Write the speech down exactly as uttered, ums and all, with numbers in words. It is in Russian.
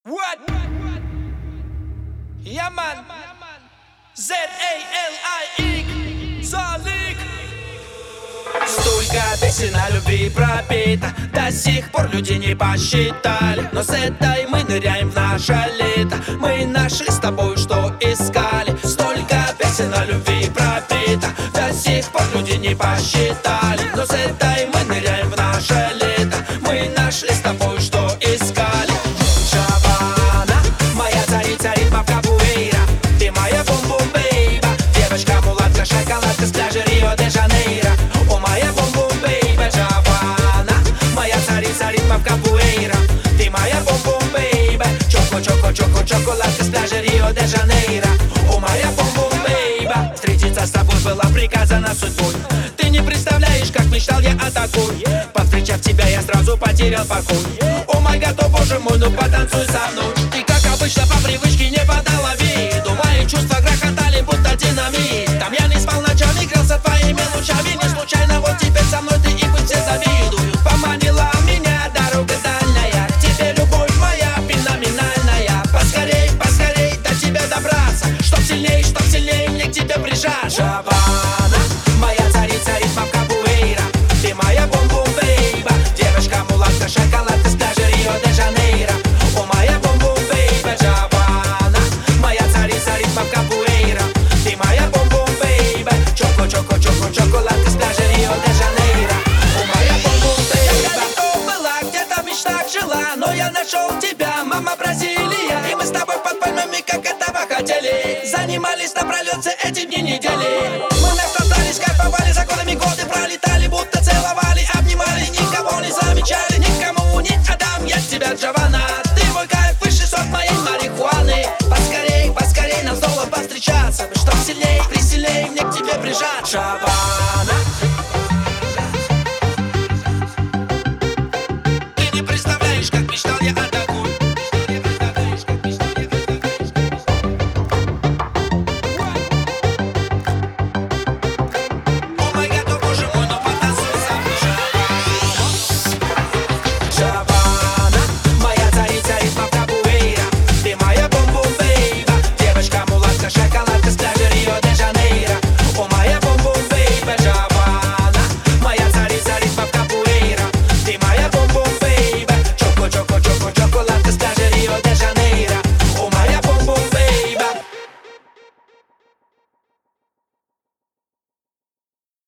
What? Yeah, man. Z-A-L-I-X. Залик. Столько песен о любви пропито, до сих пор люди не посчитали. Но с этой мы ныряем в наше лето. Мы нашли с тобой, что искали. Столько песен о любви пропито, до сих пор люди не посчитали. Но с этой мы ныряем в наше лето. Мы нашли с тобой, что искали. Шабана, моя царица ритма в капуэйра. Ты моя бум-бум, бейба. Девочка, мулатка, шоколадка с пляжа Рио-де-Жанейро. О, моя бум-бум, бейба. Шабана, моя царица ритма в капуэйра. Ты моя бум-бум, бейба. Чоко-чоко-чоко, шоколадка с пляжа Рио-де-Жанейро. О, моя бум-бум, бейба. Встретиться с тобой было приказано судьбой. Ты не представляешь, как мечтал я о такой. Повстречав тебя, я сразу потерял покой. О май гад, о боже мой, ну потанцуй со мной. Ты, как обычно, по привычке не подала виду. Мои чувства грохотали, будто динамит. Там я не спал ночами, грелся твоими лучами. Не случайно вот теперь со мной ты и быть все завидуют. Поманила меня дорога дальняя, к тебе любовь моя феноменальная. Поскорей, поскорей до тебя добраться, чтоб сильней, чтоб сильней мне к тебе прижаться. Шабана, моя царица ритма в капуэйра. Ты моя бум-бум, бейба. Девочка, мулатка, шоколадка с пляжа Рио-де-Жанейро. О, моя бум-бум, бейба. Шабана, моя царица ритма в капуэйра. Ты моя бум-бум, бейба. Чоко-чоко-чоко, шоколадка с пляжа Рио-де-Жанейро. О, моя бум-бум, бейба. Я далеко была, где-то в мечтах жила, но я нашел тебя, мама Бразилия. И мы с тобой под пальмами, как этого хотели, занимались напролет все эти дни недели. Мы наслаждались, кайфовали, за годами годы пролетали, будто целовали, обнимали, никого не замечали, никому не отдам я тебя, Джованна. Ты мой кайф, высший сорт моей марихуаны. Поскорей, поскорей нам снова повстречаться, чтоб сильней, присильней мне к тебе прижать. Шабана,